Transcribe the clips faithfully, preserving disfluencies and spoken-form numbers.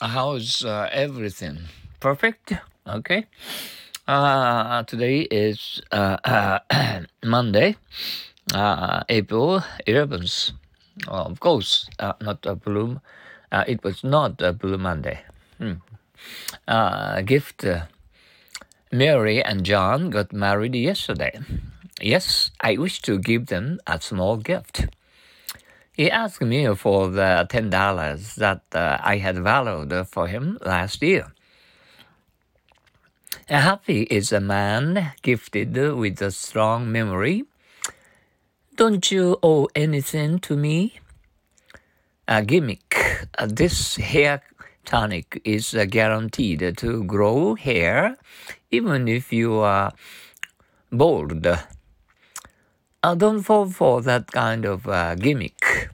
How's uh, everything? Perfect? Okay. Uh, today is uh, uh, Monday, uh, April eleventh. Uh, of course, uh, not a blue. Uh, it was not a blue Monday. Hmm. Uh, gift. Uh, Mary and John got married yesterday. Yes, I wish to give them a small gift. He asked me for the ten dollars that uh, I had valued for him last year. Happy is a man gifted with a strong memory. Don't you owe anything to me? A gimmick. Uh, this hair tonic is uh, guaranteed to grow hair even if you are bald. Uh, don't fall for that kind of uh, gimmick.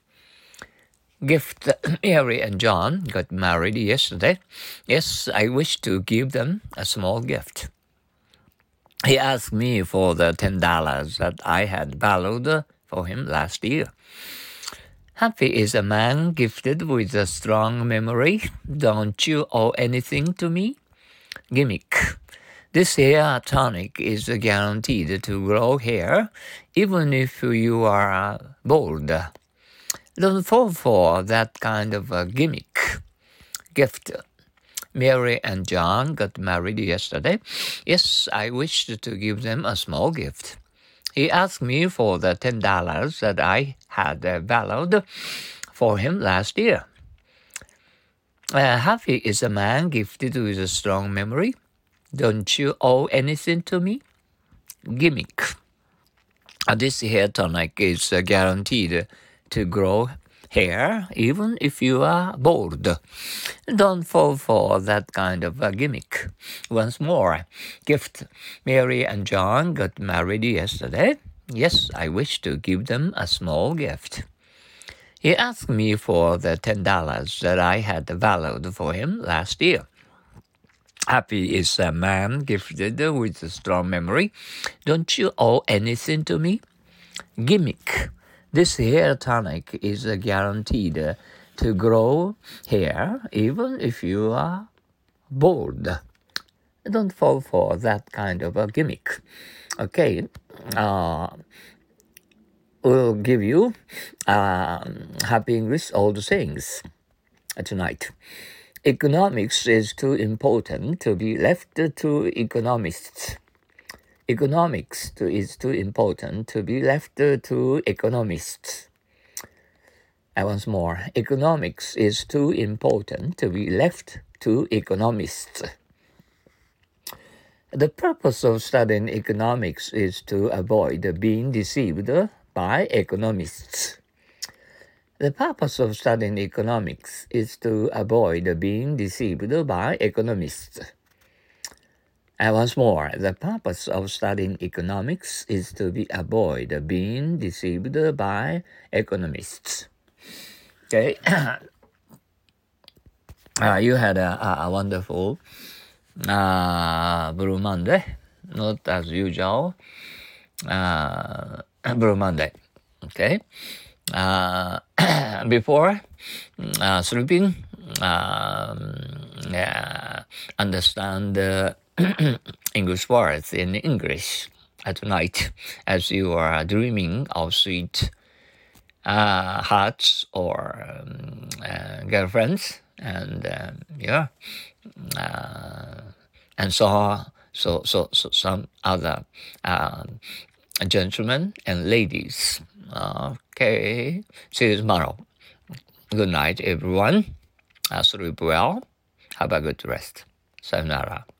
Gift. Mary and John got married yesterday. Yes, I wish to give them a small gift. He asked me for the ten dollars that I had valued for him last year. Happy is a man gifted with a strong memory. Don't you owe anything to me? Gimmick. This hair tonic is guaranteed to grow hair even if you are uh, bald. Don't fall for that kind of a gimmick. Gift. Mary and John got married yesterday. Yes, I wished to give them a small gift. He asked me for the ten dollars that I had uh, valued for him last year. Uh, happy is a man gifted with a strong memory. Don't you owe anything to me? Gimmick. Uh, this hair tonic is uh, guaranteed to grow hair even if you are bald. Don't fall for that kind of a gimmick. Once more, gift. Mary and John got married yesterday. Yes, I wish to give them a small gift. He asked me for the ten dollars that I had valued for him last year. Happy is a man gifted with a strong memory. Don't you owe anything to me? Gimmick. This hair tonic is guaranteed to grow hair even if you are bald. Don't fall for that kind of a gimmick. Okay, uh, we'll give you uh, Happy English Old Sayings tonight. Economics is too important to be left to economists. Economics is too important to be left to economists. And once more, economics is too important to be left to economists. The purpose of studying economics is to avoid being deceived by economists. The purpose of studying economics is to avoid being deceived by economists. And once more, the purpose of studying economics is to be avoid being deceived by economists. Okay, uh, you had a, a wonderful uh, Blue Monday, not as usual. Uh, Blue Monday, okay. Uh, before uh, sleeping, um, yeah, understand the English words in English at night as you are dreaming of sweet uh, hearts or um, uh, girlfriends and um, yeah, uh, and so so so so some other uh, gentlemen and ladies. Okay, see you tomorrow. Good night, everyone. Uh, sleep well. Have a good rest. Sayonara.